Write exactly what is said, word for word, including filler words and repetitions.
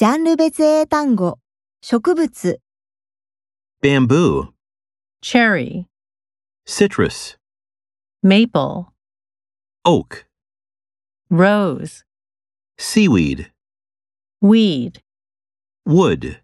ジャンル別英単語、植物、 bamboo, cherry, citrus, maple, oak, rose, seaweed, weed. wood.